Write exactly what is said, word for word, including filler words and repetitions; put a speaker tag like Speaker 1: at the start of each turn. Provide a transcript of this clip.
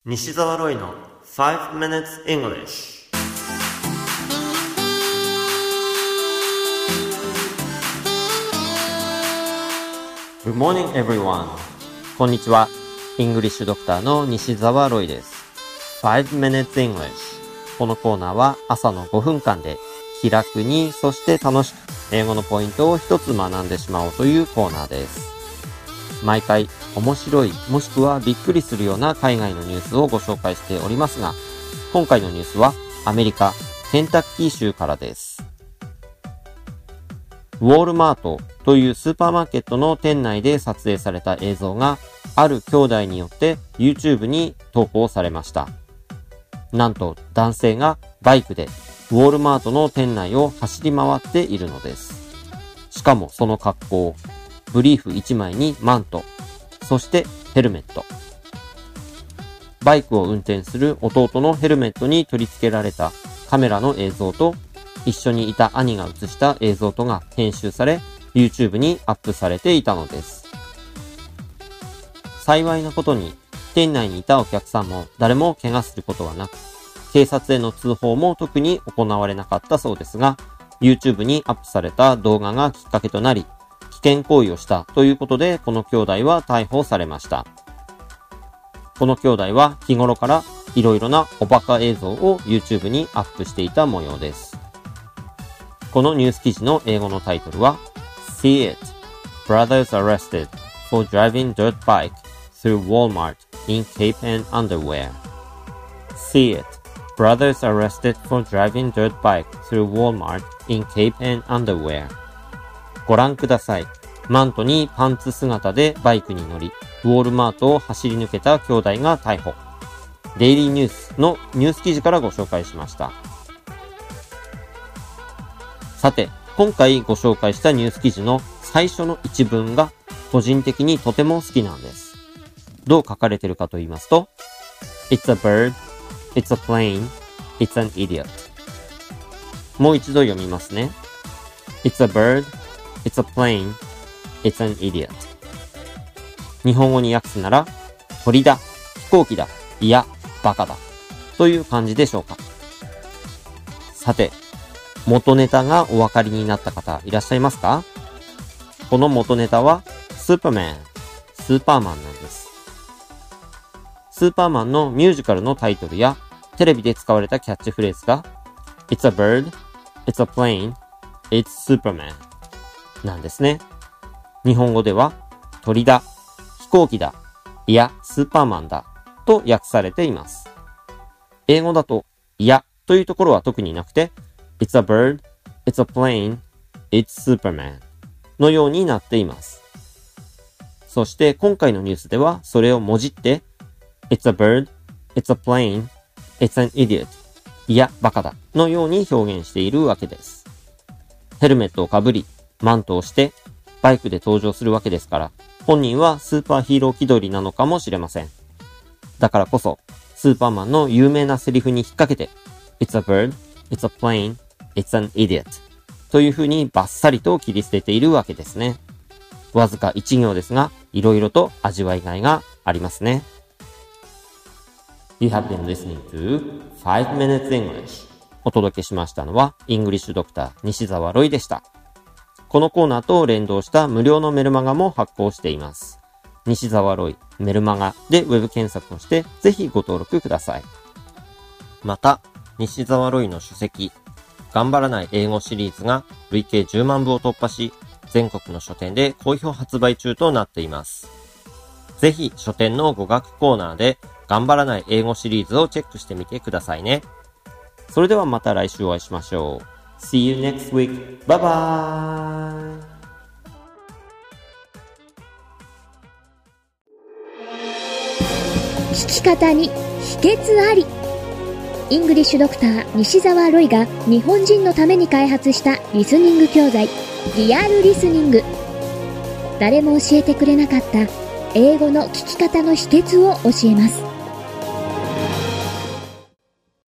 Speaker 1: 西澤ロイの five minutes English。
Speaker 2: Good morning everyone。 こんにちは。イングリッシュドクターの西澤ロイです。five minutes English。 このコーナーは朝のごふんかんで気楽に、そして楽しく英語のポイントを一つ学んでしまおうというコーナーです。毎回面白いもしくはびっくりするような海外のニュースをご紹介しておりますが、今回のニュースはアメリカケンタッキー州からです。ウォールマートというスーパーマーケットの店内で撮影された映像がある兄弟によって YouTube に投稿されました。なんと男性がバイクでウォールマートの店内を走り回っているのです。しかもその格好、ブリーフいちまいにマント、そしてヘルメット。バイクを運転する弟のヘルメットに取り付けられたカメラの映像と、一緒にいた兄が映した映像とが編集され、YouTube にアップされていたのです。幸いなことに、店内にいたお客さんも誰も怪我することはなく、警察への通報も特に行われなかったそうですが、YouTube にアップされた動画がきっかけとなり、危険行為をしたということで、この兄弟は逮捕されました。この兄弟は日頃からいろいろなおバカ映像を YouTube にアップしていた模様です。このニュース記事の英語のタイトルは See it! Brothers arrested for driving dirt bike through Walmart in cape and underwear. See it! Brothers arrested for driving dirt bike through Walmart in cape and underwear. ご覧ください。マントにパンツ姿でバイクに乗り、ウォールマートを走り抜けた兄弟が逮捕。デイリーニュースのニュース記事からご紹介しました。さて、今回ご紹介したニュース記事の最初の一文が個人的にとても好きなんです。どう書かれているかと言いますと、It's a bird, it's a plane, it's an idiot。 もう一度読みますね。It's a bird, it's a plane, it's an idiot。 日本語に訳すなら、鳥だ、飛行機だ、いや、バカだという感じでしょうか。さて、元ネタがお分かりになった方いらっしゃいますか？この元ネタはスーパーマン、スーパーマンなんです。スーパーマンのミュージカルのタイトルやテレビで使われたキャッチフレーズが It's a bird, it's a plane, it's Superman なんですね。日本語では鳥だ、飛行機だ、いやスーパーマンだと訳されています。英語だといやというところは特になくてIt's a bird, it's a plane, it's Superman のようになっています。そして今回のニュースではそれをもじって It's a bird, it's a plane, it's an idiot いやバカだのように表現しているわけです。ヘルメットをかぶり、マントをしてバイクで登場するわけですから、本人はスーパーヒーロー気取りなのかもしれません。だからこそスーパーマンの有名なセリフに引っ掛けて It's a bird, it's a plane,It's an idiot という風にバッサリと切り捨てているわけですね。わずか一行ですが、いろいろと味わいがいがありますね。You have been listening to five minutes English。 お届けしましたのはイングリッシュドクター西澤ロイでした。このコーナーと連動した無料のメルマガも発行しています。西澤ロイメルマガでウェブ検索をしてぜひご登録ください。また、西澤ロイの書籍頑張らない英語シリーズが累計じゅうまんぶを突破し、全国の書店で好評発売中となっています。ぜひ書店の語学コーナーで頑張らない英語シリーズをチェックしてみてくださいね。それではまた来週お会いしましょう。See you next week. Bye bye!
Speaker 3: 聞き方に秘訣あり。イングリッシュドクター西澤ロイが日本人のために開発したリスニング教材リアルリスニング。誰も教えてくれなかった英語の聞き方の秘訣を教えます。